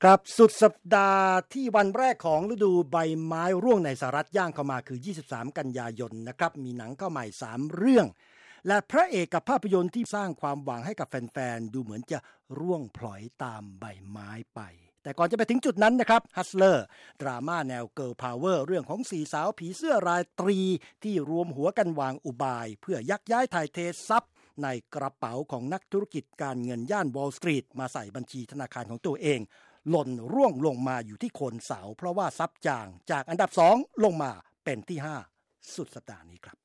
ครับสุดสัปดาห์ที่วันแรกของฤดูใบไม้ร่วงในสหรัฐย่างเข้ามาคือ23กันยายนนะครับมีหนังเข้าใหม่3เรื่องและพระเอกกับภาพยนตร์ที่สร้างความหวังให้กับแฟนๆดูเหมือนจะร่วงพลอยตามใบไม้ไปแต่ก่อนจะไปถึงจุดนั้นนะครับฮัสเลอร์ดราม่าแนวเกิร์ลพาวเวอร์เรื่องของ4สาวผีเสื้อราตรีที่รวมหัวกันวางอุบายเพื่อยักย้ายถ่ายเททรัพย์ในกระเป๋าของนักธุรกิจการเงินย่านวอลล์สตรีทมาใส่บัญชีธนาคารของตัวเองหล่นร่วงลงมาอยู่ที่โคนเสาเพราะว่าทรัพย์จางจากอันดับ2ลงมาเป็นที่5สุดสัปดาห์นี้ครับ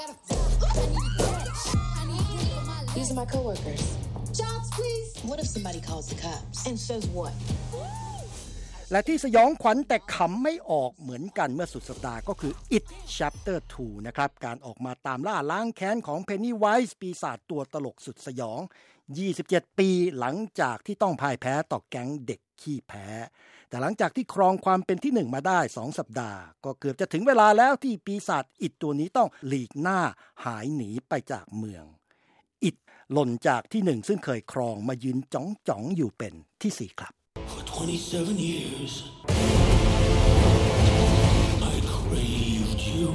These are my coworkers. Jobs, please. What if somebody calls the cops and says what? และที่สยองขวัญแต่ขำไม่ออกเหมือนกันเมื่อสุดสัปดาห์ก็คือ It Chapter 2 นะครับการออกมาตามล่าล้างแค้นของ Pennywise ปีศาจตัวตลกสุดสยอง27ปีหลังจากที่ต้องพ่ายแพ้ต่อแก๊งเด็กขี้แพ้แต่หลังจากที่ครองความเป็นที่1มาได้2สัปดาห์ก็เกือบจะถึงเวลาแล้วที่ปีศาจอิดตัวนี้ต้องหลีกหน้าหายหนีไปจากเมืองอิดหล่นจากที่1ซึ่งเคยครองมายืนจ๋องๆอยู่เป็นที่4ครับ For 27 years, I craved you.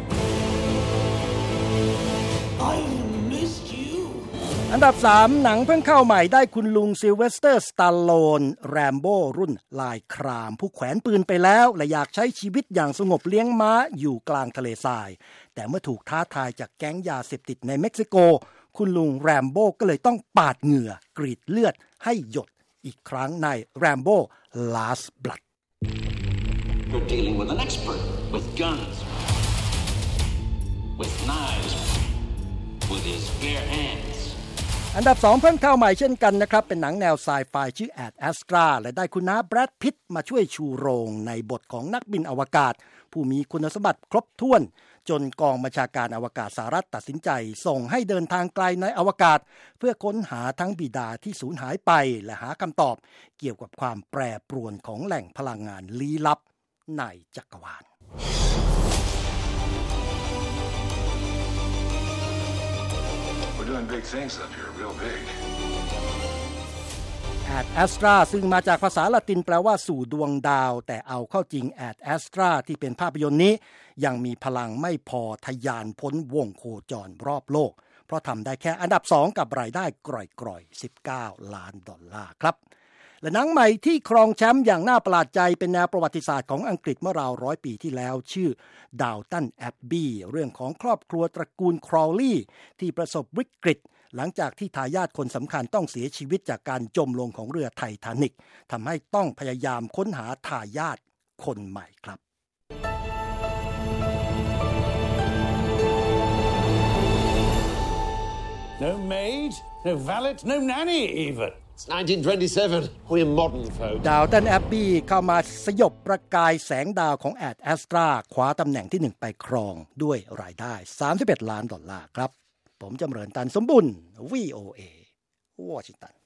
I missed you. อันดับ3หนังเพิ่งเข้าใหม่ได้คุณลุงซิลเวสเตอร์สตาลโลนแรมโบ้รุ่นลายครามผู้แขวนปืนไปแล้วและอยากใช้ชีวิตอย่างสงบเลี้ยงม้าอยู่กลางทะเลทรายแต่เมื่อถูกท้าทายจากแก๊งยาเสพติดในเม็กซิโกคุณลุงแรมโบ้ก็เลยต้องปาดเหงื่อกรีดเลือดให้หยดอีกครั้งใน Rambo Last Blood You're dealing with an expert with guns, with knives, with his bare hands. อันดับ2เพิ่งเข้าใหม่เช่นกันนะครับเป็นหนังแนวไซไฟชื่อ Ad Astra และได้คุณน้าแบรดพิตต์มาช่วยชูโรงในบทของนักบินอวกาศผู้มีคุณสมบัติครบถ้วนจนกองบัญชาการอวกาศสหรัฐตัดสินใจส่งให้เดินทางไกลในอวกาศเพื่อค้นหาทั้งบิดาที่สูญหายไปและหาคำตอบเกี่ยวกับความแปรปรวนของแหล่งพลังงานลี้ลับในจักรวาล We're doing big things up here, real big. Ad Astra ซึ่งมาจากภาษาละตินแปลว่าสู่ดวงดาวแต่เอาเข้าจริง Ad Astra ที่เป็นภาพยนตร์นี้ยังมีพลังไม่พอทะยานพ้นวงโคจรรอบโลกเพราะทำได้แค่อันดับ2กับรายได้กร่อยๆ$19 ล้านครับและหนังใหม่ที่ครองแชมป์อย่างน่าประหลาดใจเป็นแนวประวัติศาสตร์ของอังกฤษเมื่อราว100 ปีที่แล้วชื่อ Downton Abbey เรื่องของครอบครัวตระกูลครอลลีย์ที่ประสบวิกฤตหลังจากที่ทายาทคนสำคัญต้องเสียชีวิตจากการจมลงของเรือไททานิกทำให้ต้องพยายามค้นหาทายาทคนใหม่ครับ No maid, no valet, no nanny even. It's 1927. We're modern folk. Downton Abbey เข้ามาสยบประกายแสงดาวของ Ad Astra คว้าตำแหน่งที่1ไปครองด้วยรายได้$31 ล้านครับผมจำเริญตันสมบุญ VOA วอชิงตัน